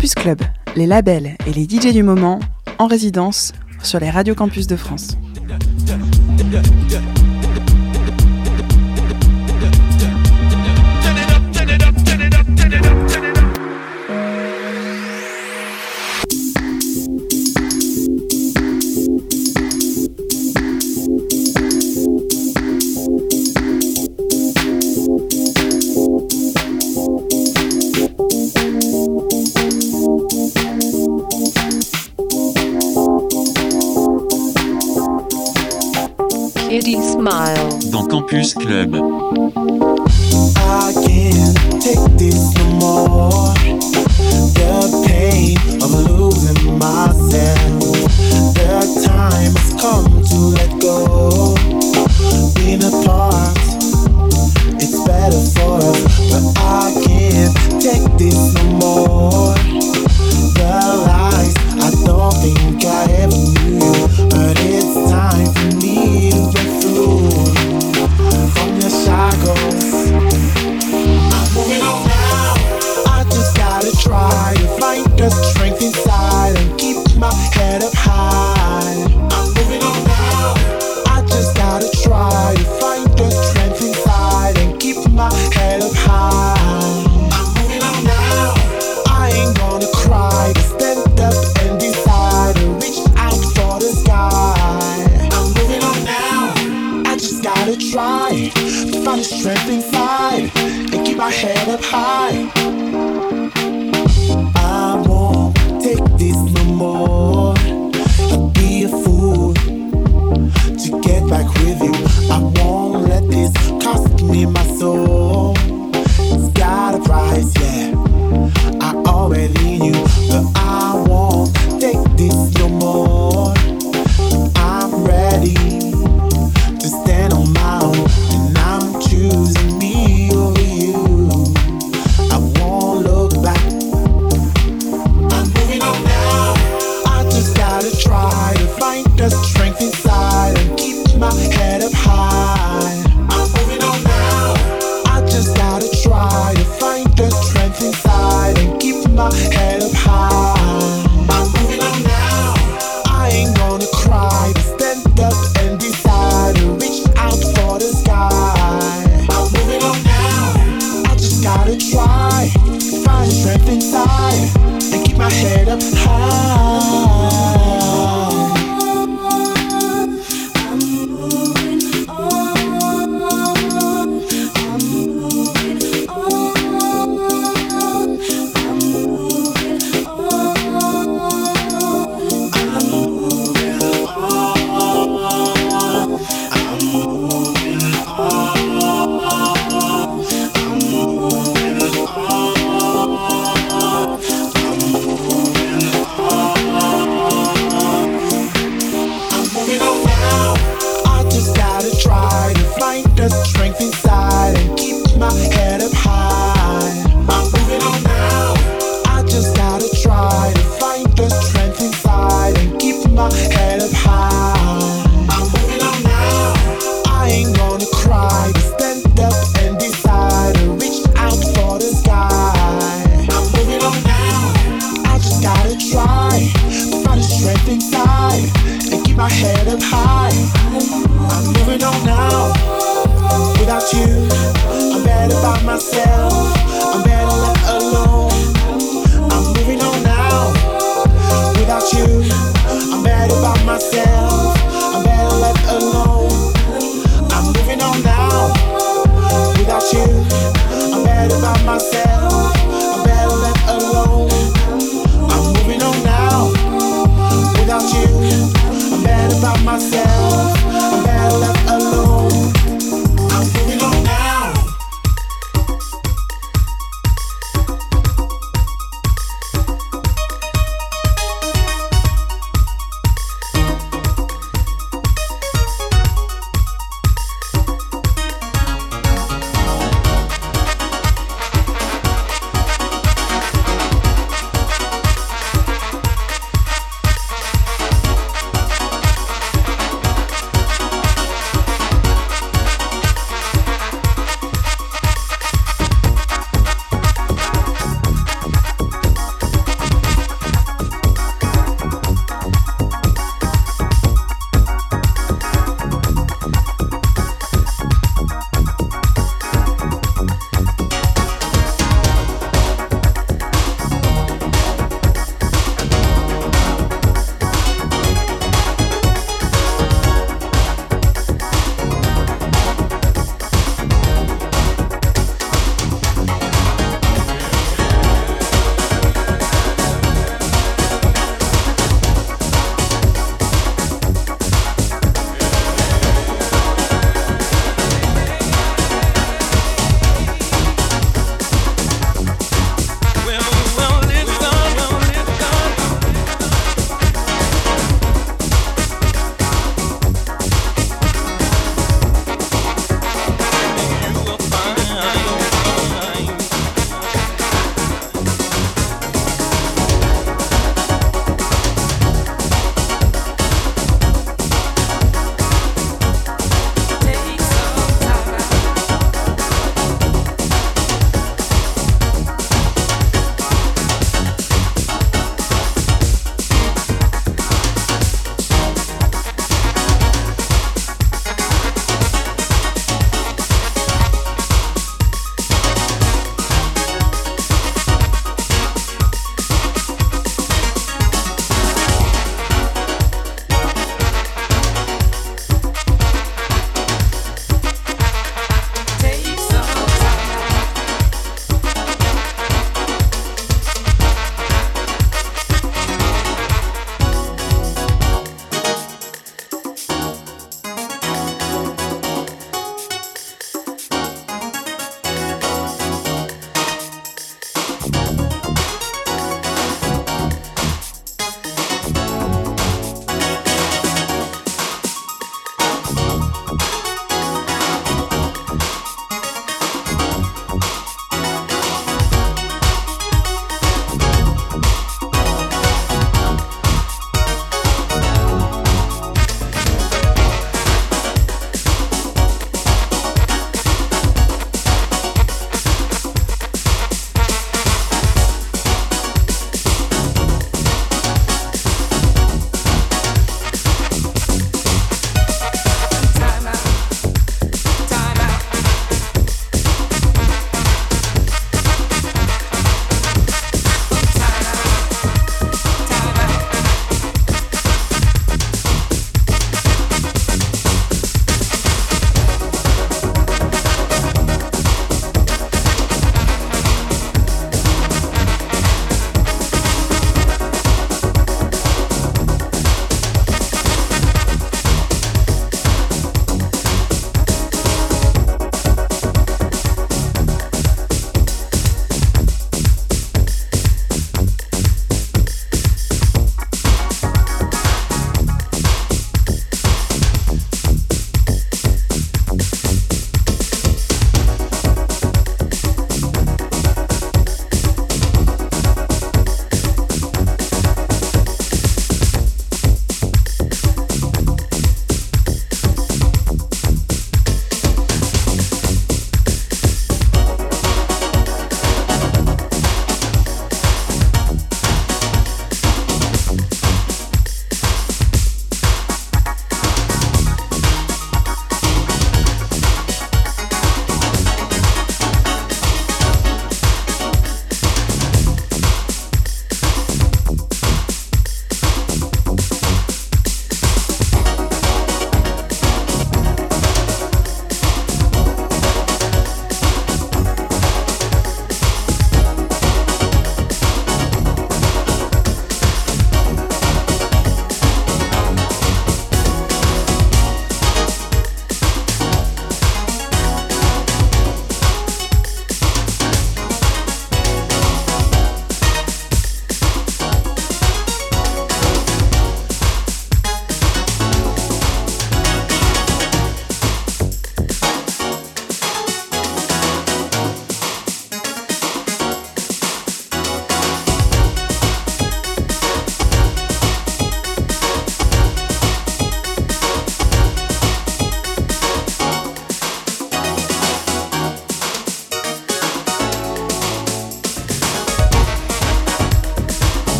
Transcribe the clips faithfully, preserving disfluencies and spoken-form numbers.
Campus Club, les labels et les D J du moment en résidence sur les radios campus de France. Dans Campus Club. I can't take this no more. The pain of losing myself. The time has come to let go. Being apart, it's better for us, but I can't take this no more. The lies, I don't think I ever knew, but it's time for me to break through from the shackles. I'm moving on now. I just gotta try to find the strength inside and keep my head up high. I'm moving on now. I just gotta try to find the strength inside and keep my head up high. I'm moving on now. I ain't gonna cry, but stand up and decide to reach out for the sky. I'm moving on now. I just gotta try to find the strength inside and keep my head up high. I won't take this no more. I'd be a fool to get back with you. I won't let this cost me my soul. It's got a price, yeah, I already knew, but I won't take this no more. I'm ready to stand on my own, and I'm choosing me over you. I won't look back. I'm moving on now. I just gotta try to find the strength inside and keep my head up high. I'm moving on now. I just gotta try to find the strength inside and keep my head up high. I'm moving on now. I ain't gonna cry, but stand up and decide to reach out for the sky. I'm moving on now. I just gotta try to find strength inside and keep my head up high. The strength inside and keep my head up high. I'm moving on now. I just gotta try to find the strength inside and keep my head up high. I'm moving on now. I ain't gonna cry, but stand up and decide to reach out for the sky. I'm moving on now. I just gotta try to find the strength inside and keep my head up high. I'm moving on now. Without you, I'm better by myself. I'm better left alone. I'm moving on now. Without you, I'm better by myself. I'm better left alone. I'm moving on now. Without you, I'm better by myself. I'm better left alone. I'm moving on now. Without you, I'm better by myself. I'm better left alone. I'm moving on now.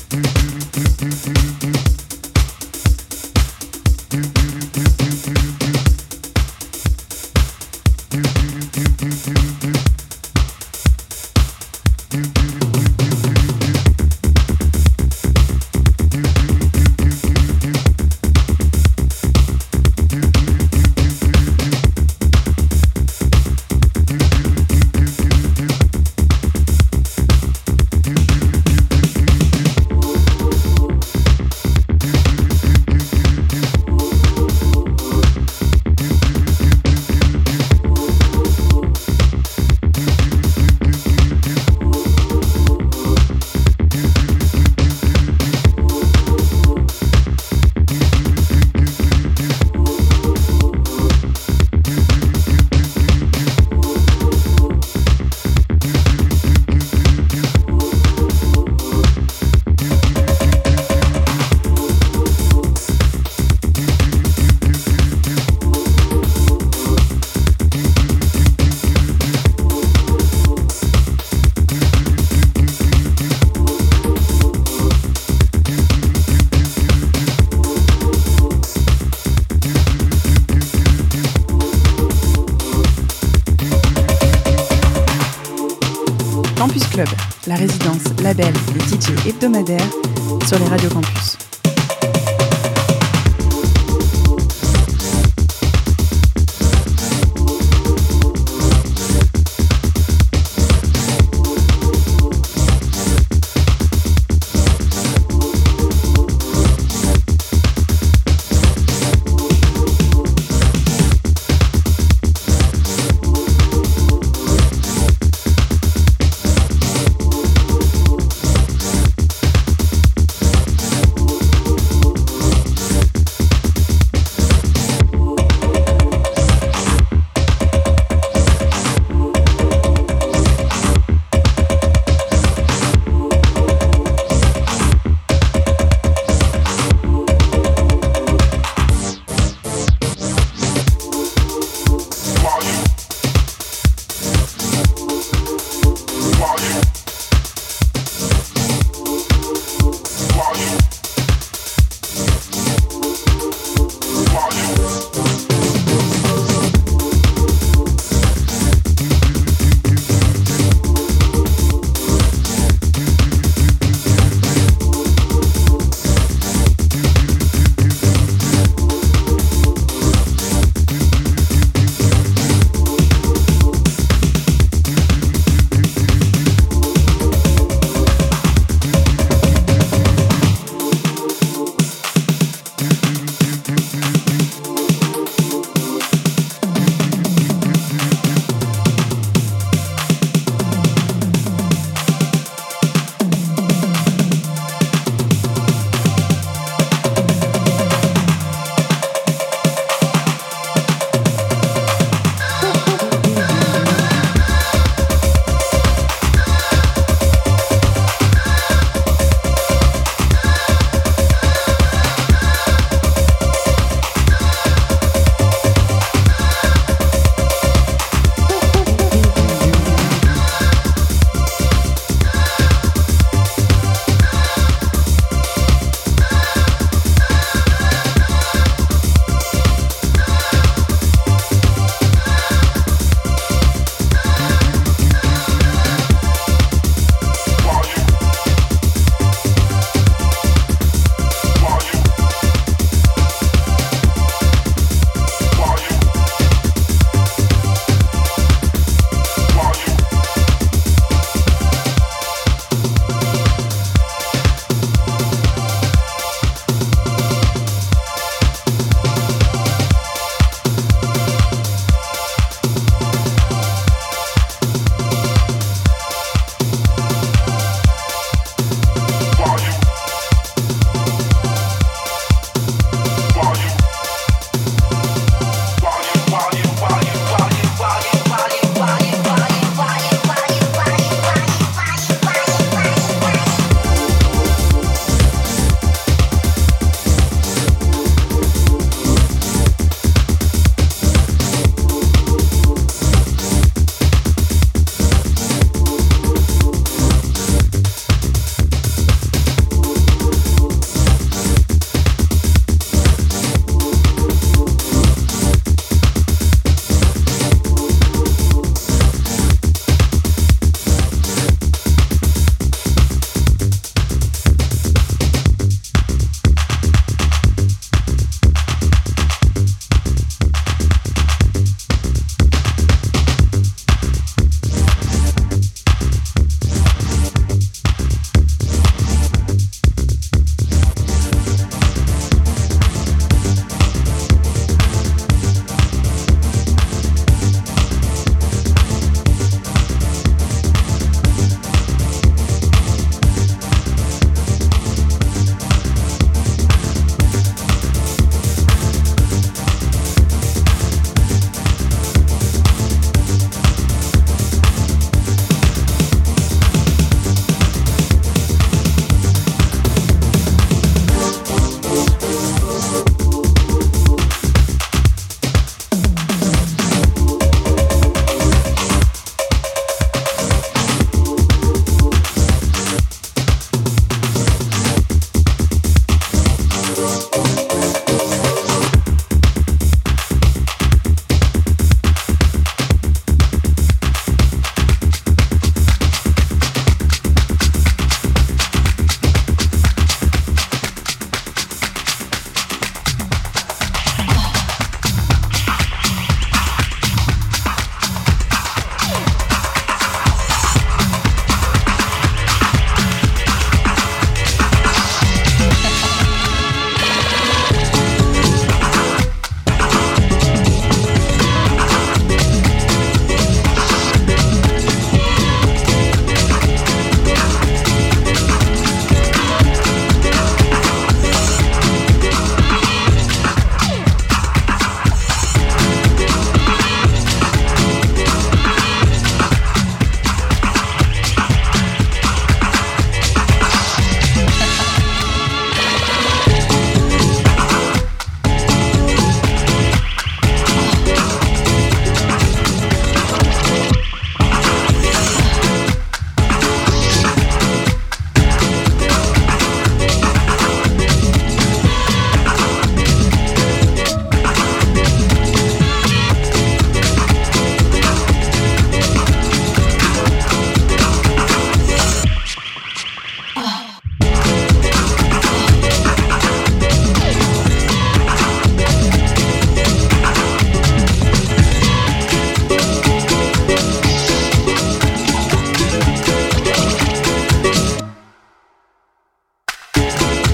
Campus Club, la résidence, label et D J hebdomadaire sur les radios campus.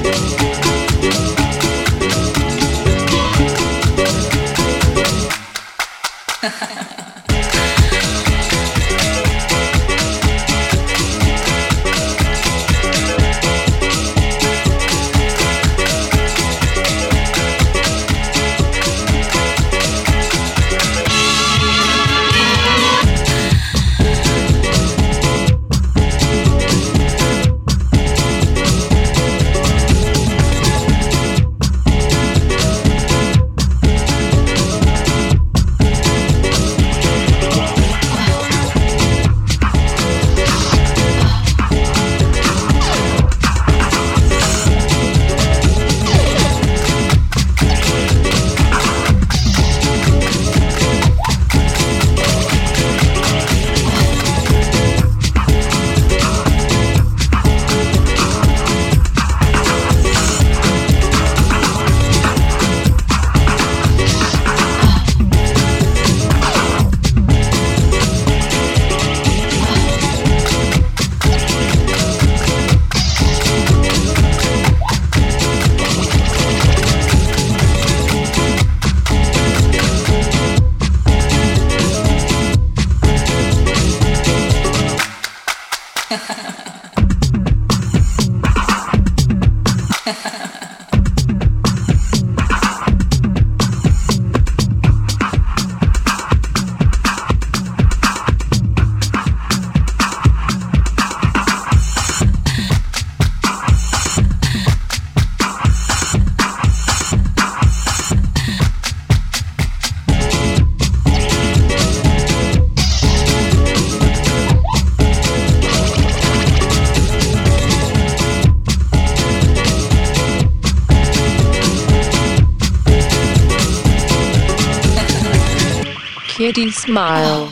Kitty smile.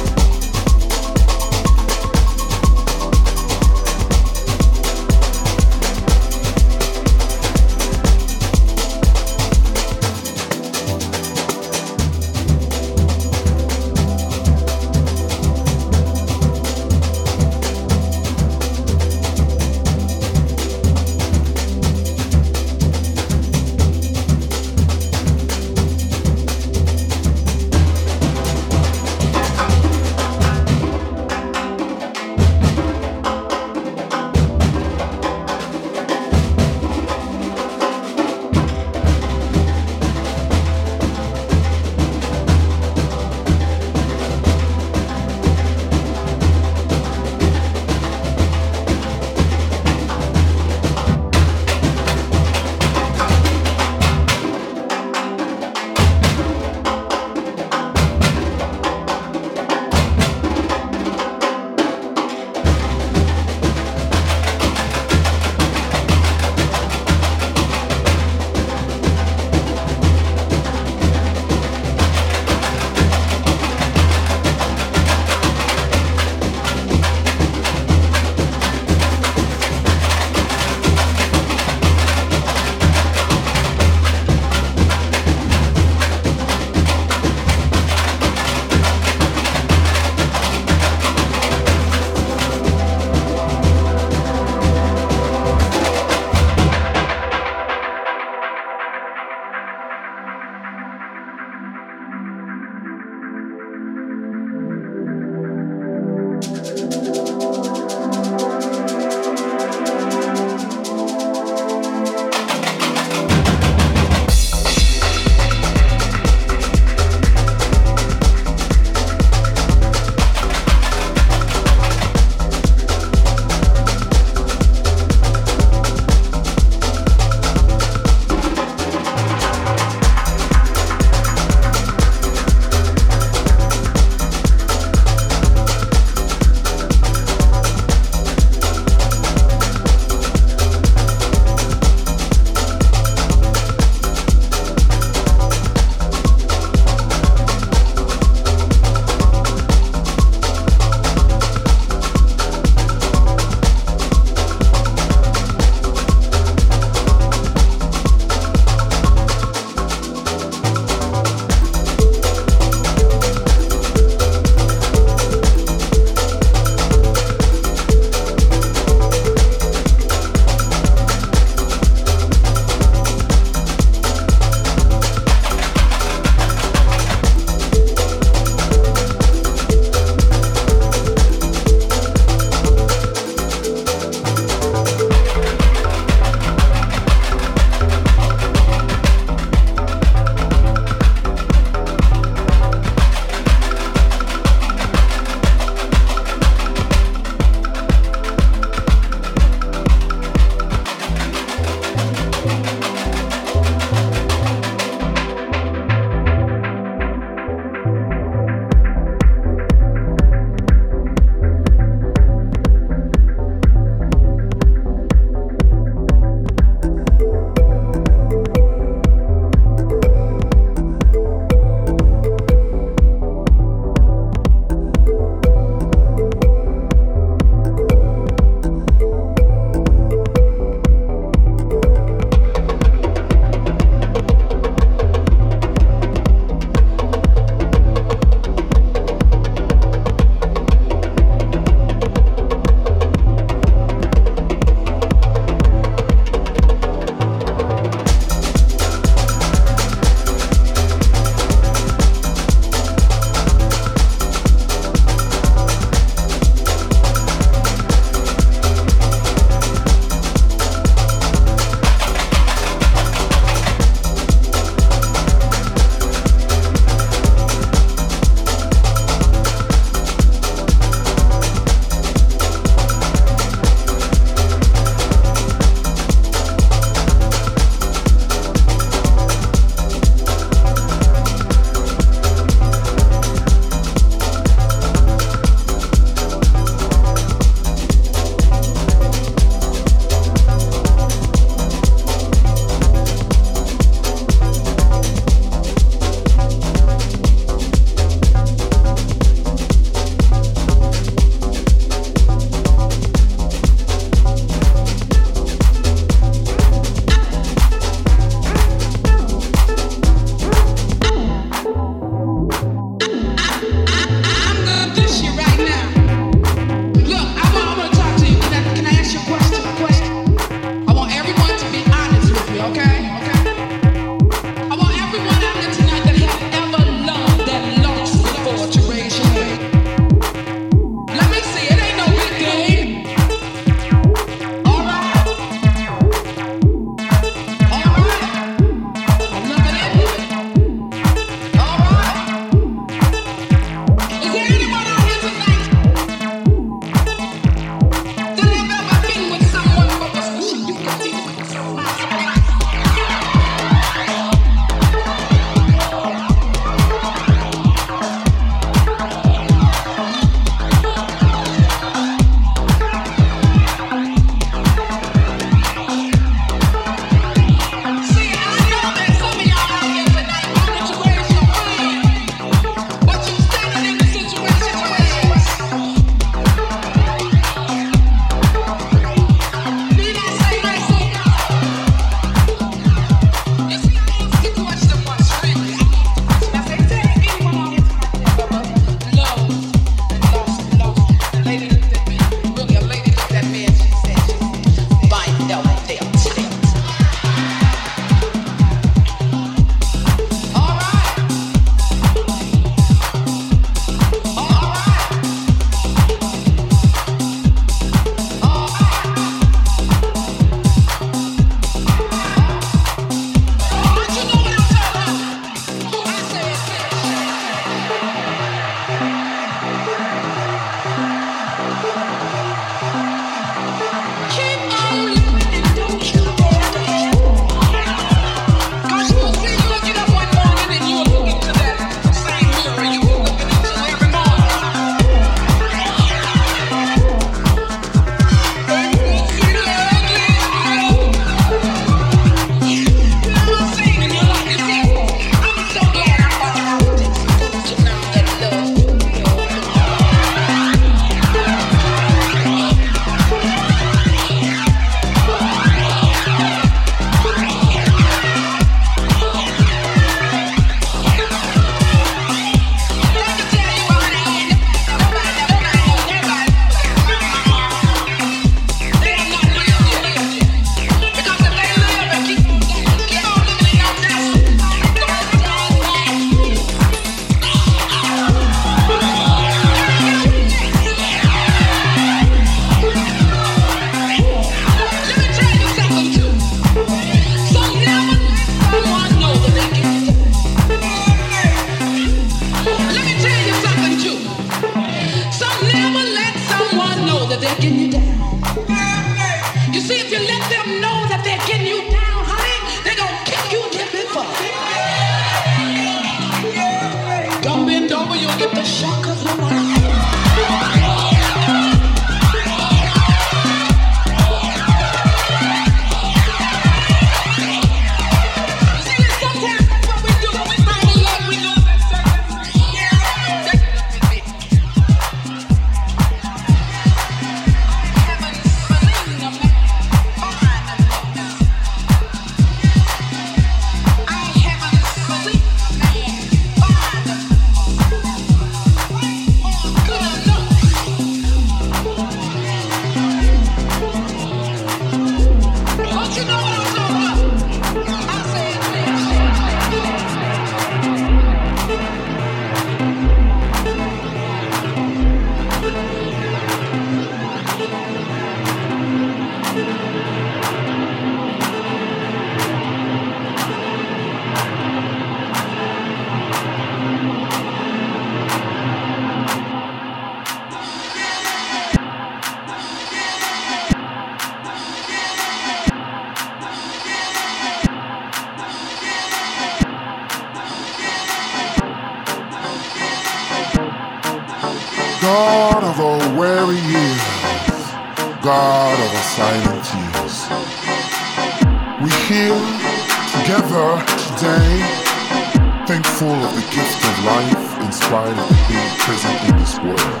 God of our weary years, God of our silent tears, we're here together today, thankful of the gift of life in spite of the being present in this world.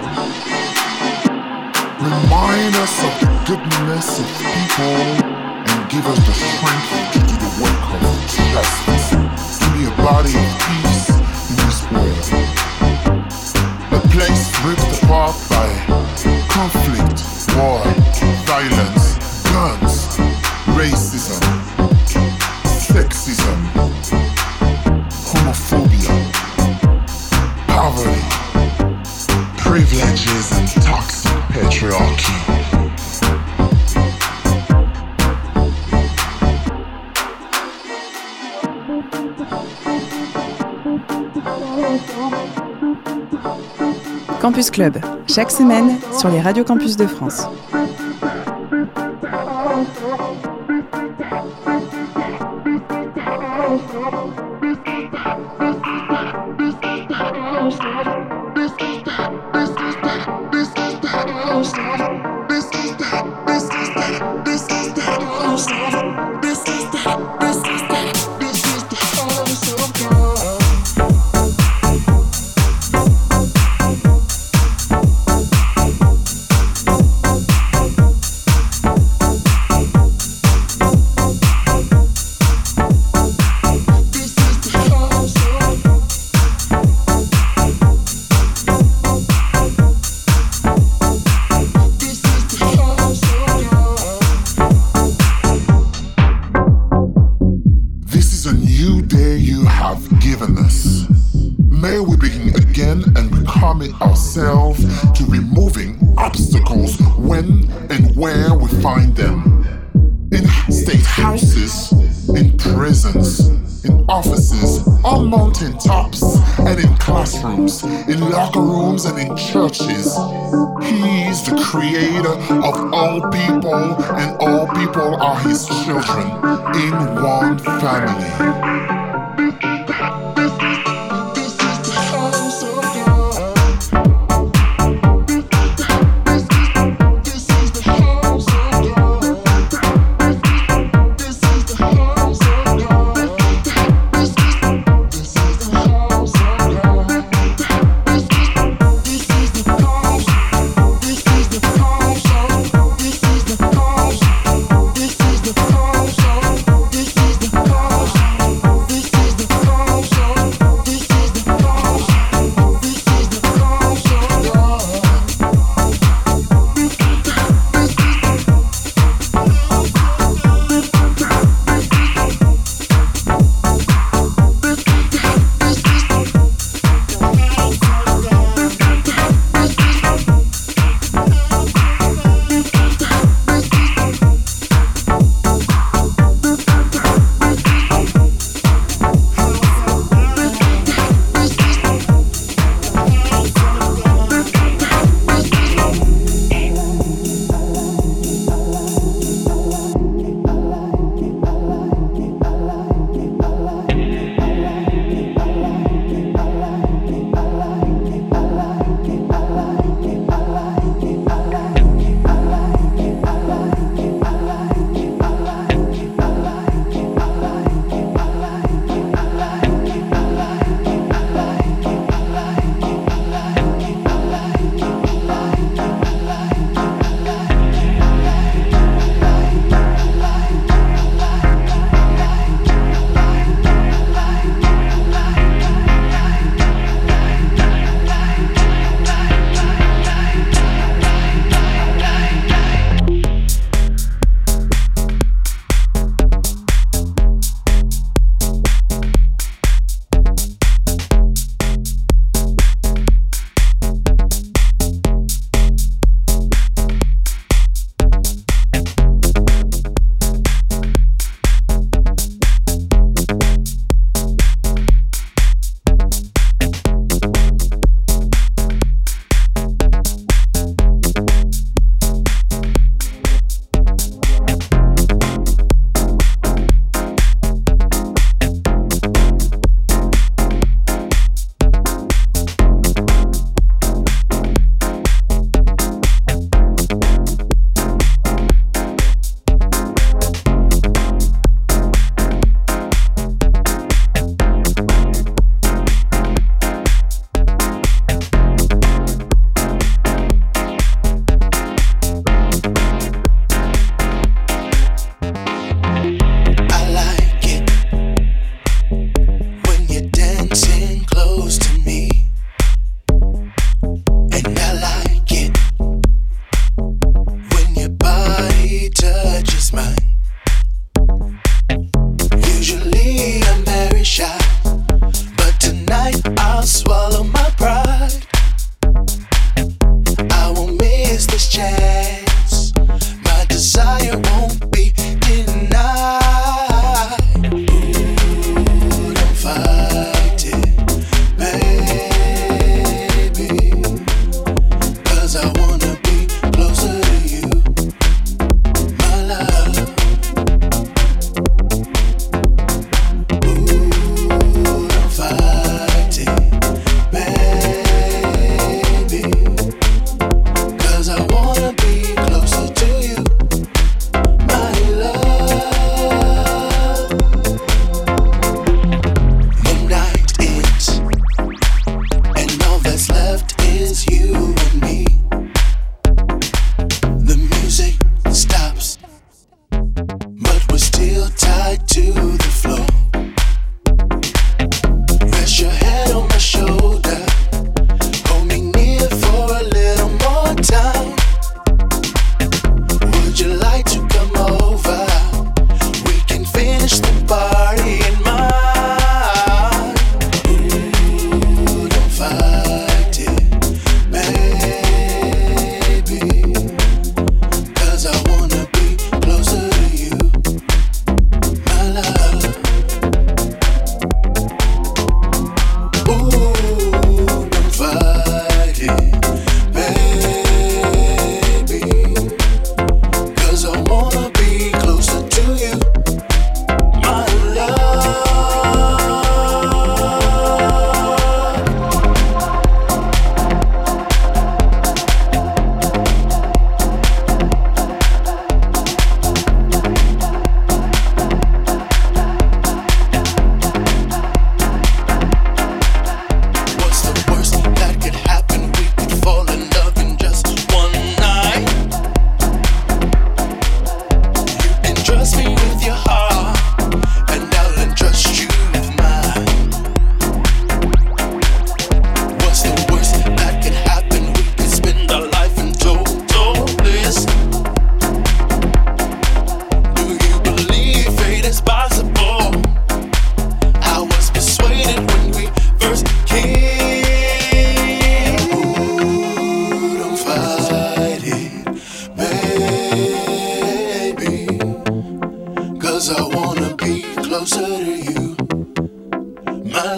Remind us of the goodness of people and give us the strength to do the work of justice, to be a body of peace in this world. A place ripped apart by conflict, war, violence, guns, racism, sexism, homophobia, poverty, privileges and toxic patriarchy. Campus Club, chaque semaine sur les radios campus de France. In locker rooms and in churches. He's the creator of all people, and all people are his children in one family. This dance. My desire won't be denied. Ooh, don't fight it, baby. 'Cause I wanna be closer to you, my love. Ooh, don't fight it, baby. 'Cause I wanna be closer to you, my love. The night ends, and all that's left is you and me. The music stops, but we're still tied to the floor. Rest your head on my shoulder, hold me near for a little more time. Would you like to come over? We can finish the party in mine. Ooh, don't fight it, baby. 'Cause I wanna be closer to you, my love. Ooh, don't fight it, baby. 'Cause I wanna be closer to you, my love. What's the worst that could happen? We could fall in love in just one night. You can trust me with your heart, and I'll entrust you with mine. What's the worst that could happen? We could spend our life in total bliss. Do you believe fate is possible? I was persuaded when we first kissed. Ooh, don't fight it, baby. 'Cause I wanna be closer to you, my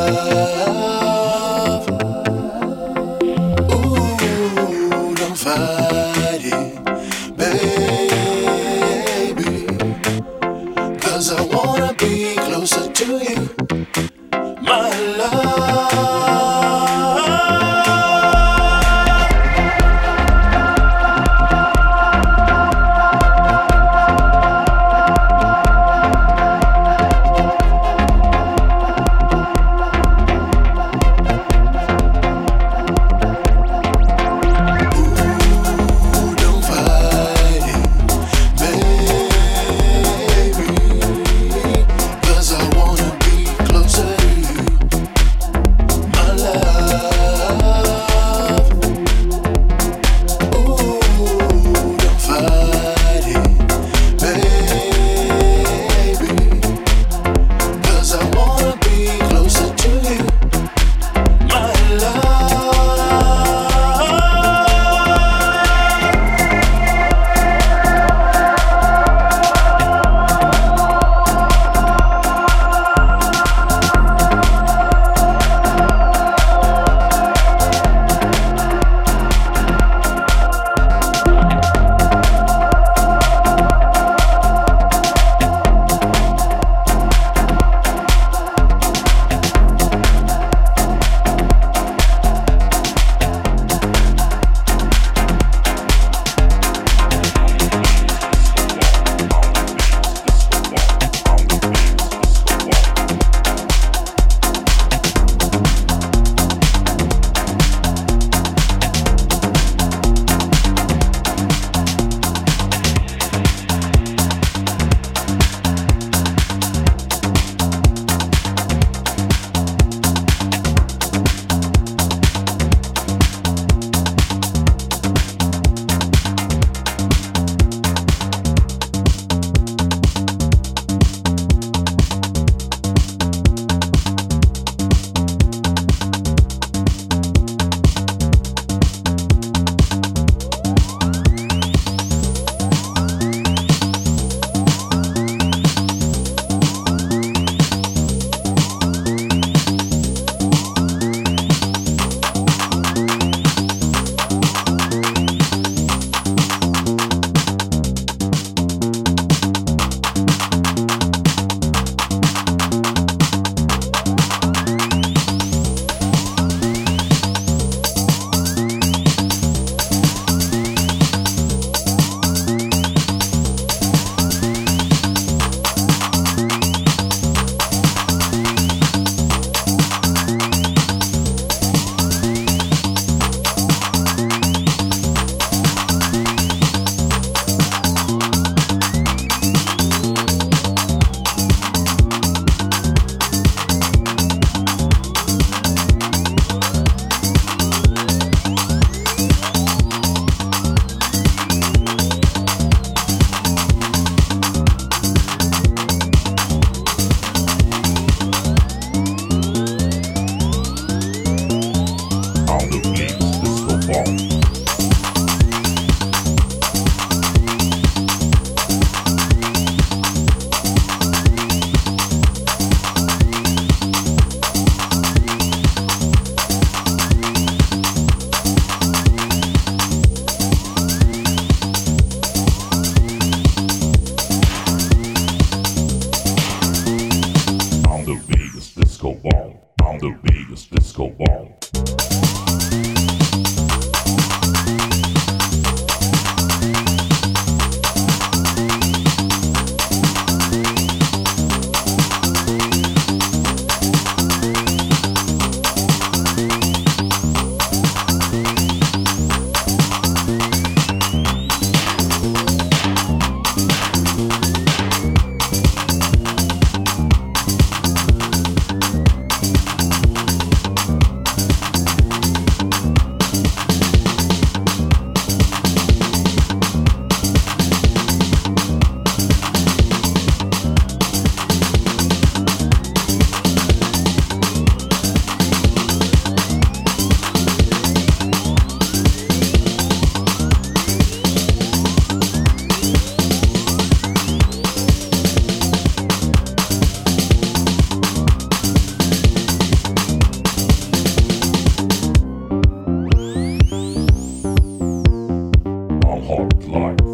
love. Ooh, don't fight it, baby. 'Cause I wanna be closer to you, my love. Ooh, don't fight it, baby. 'Cause I wanna be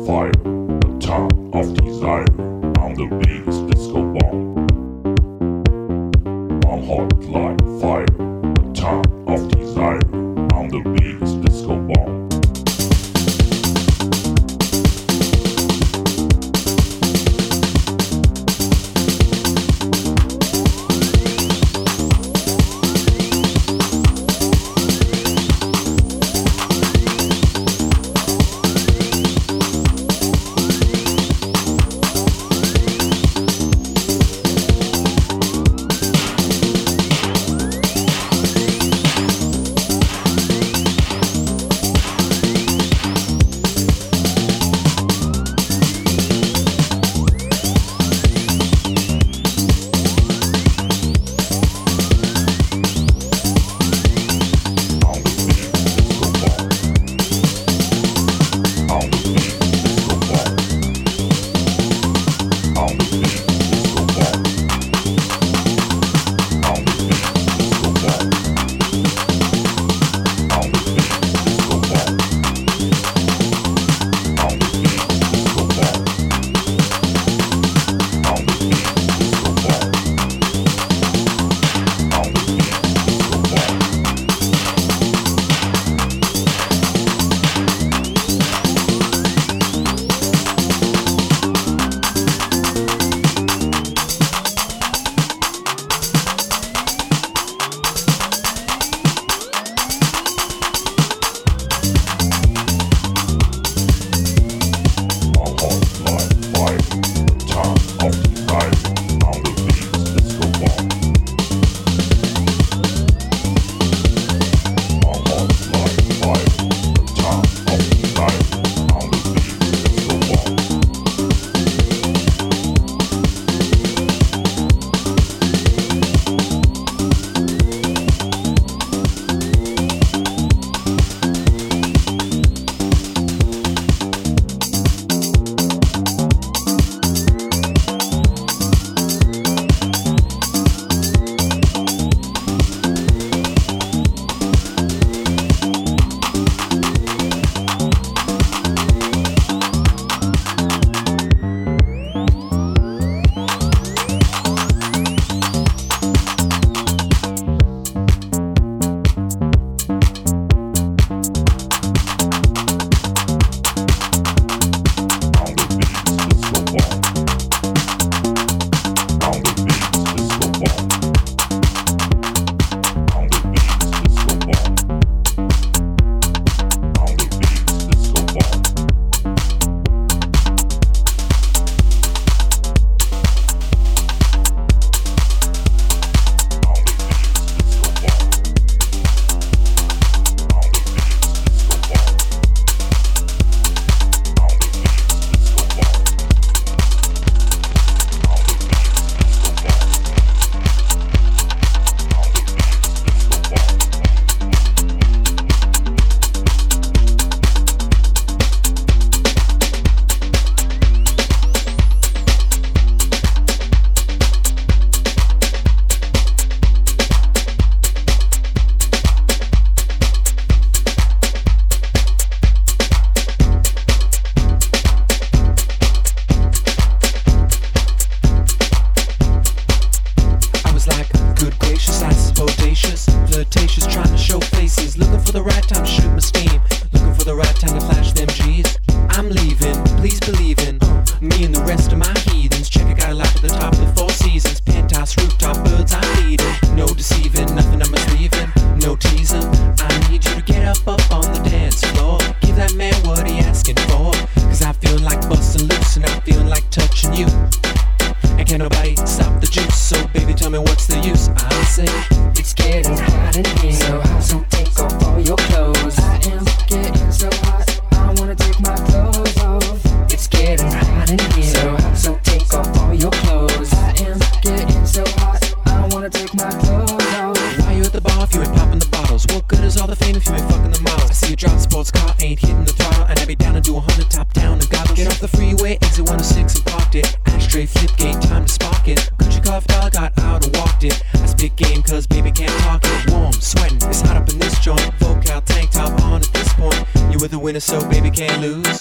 winner, so baby can't lose. I got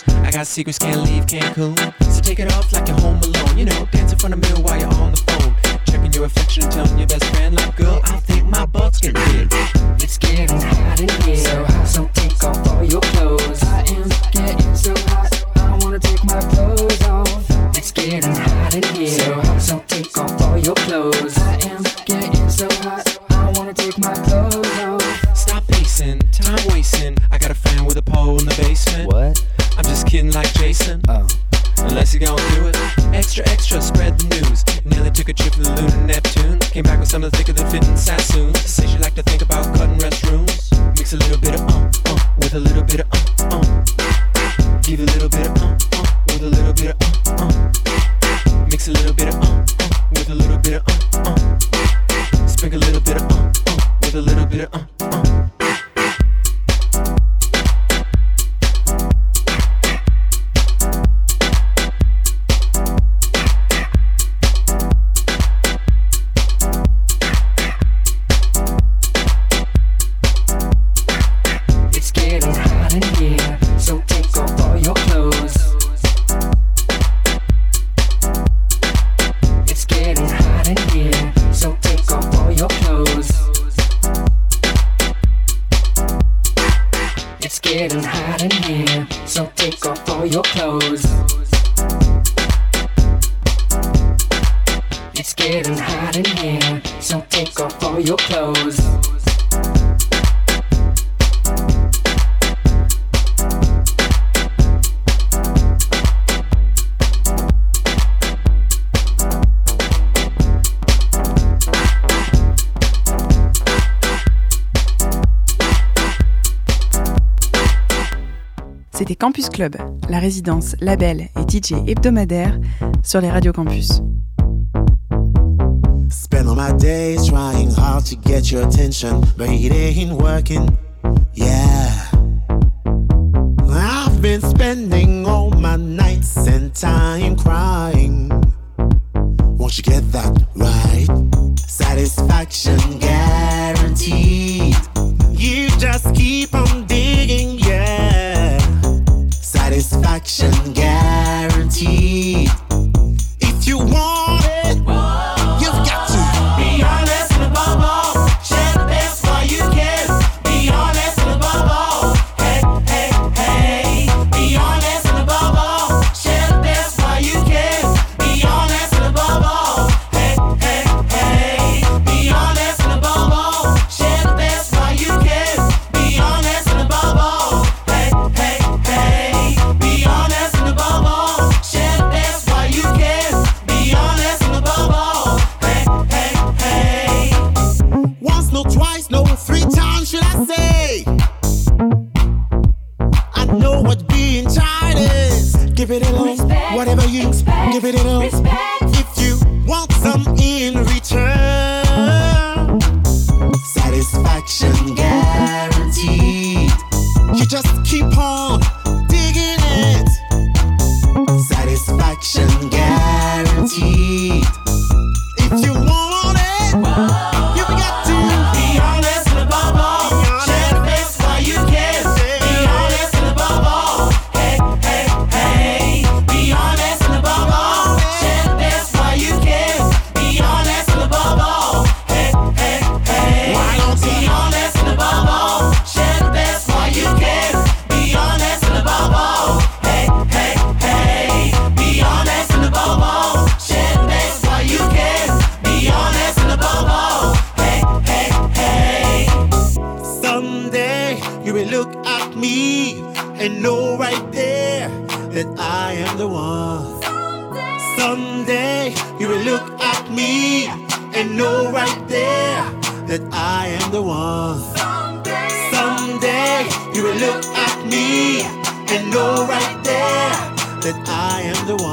got secrets, can't leave Cancun. So take it off like you're home alone. You know, dance in front of the mirror while you're on the phone. Checking your reflection and telling your best friend, like, girl, I think my butt's getting big. It's getting hot in here, so hot, so take off all your clothes. I am getting so hot, I wanna take my clothes off. It's getting hot in here, so hot, so take off all your clothes. I am getting so hot, I wanna take my clothes off. Stop pacing, time wasting. I got a fan with a pole in the basement. What? I'm just kidding like Jason. Oh. Unless you're gonna do it. Extra, extra, spread the news. Nearly took a trip to the lunar Neptune. Came back with something thicker than fitting Sassoon. Say she like to think about cutting restrooms. Mix a little bit of uh, uh, with a little bit of uh, uh. Give a little bit of uh, uh, with a little bit of uh, uh. Mix a little bit of uh, uh, with a little bit of uh, uh. Sprinkle a little bit of uh, uh, with a little bit of uh, uh. Getting hot in here, so take off all your clothes. It's getting hot in here, so take off all your clothes. C'était Campus Club, la résidence, label et D J hebdomadaire sur les radios campus. Spend all my days trying hard to get your attention, but it ain't working, yeah. I've been spending all my nights and time crying. Won't you get that right? Satisfaction guaranteed. You just keep on digging, yeah. Satisfaction guaranteed. If you want it, you've got to be honest and above all, share the best while you can. Be honest and above all, hey, hey, hey. Be honest and above all, share the best while you can. Be honest and above all, hey, hey, hey. Be honest and above all, share the best while you can. Be honest and above all, hey, hey, hey. Be honest and above all, share the best while you can. Be honest and above all, hey, hey, hey. Once, no twice, no three times should I say. I know what being tired is. Give it a love, whatever you expect. Give it a love, if you want some in return. Satisfaction guaranteed. You just keep on digging it. Satisfaction guaranteed. If you want it, you got to be honest and above all, share the best while you can. Be honest and above all, hey, hey, hey. Be honest and above all, share the best while you can. Be honest and above all, hey, hey, hey. Why don't you be honest and above all, share the best while you can. Be honest and above all, hey, hey, hey. Be honest and above all, share the best while you can. Be honest and above all, hey, hey, hey. Someday you will look at me and know right there that I am the one. Someday you will look at me and know right there that I am the one. Someday you will look at me and know right there that I am the one.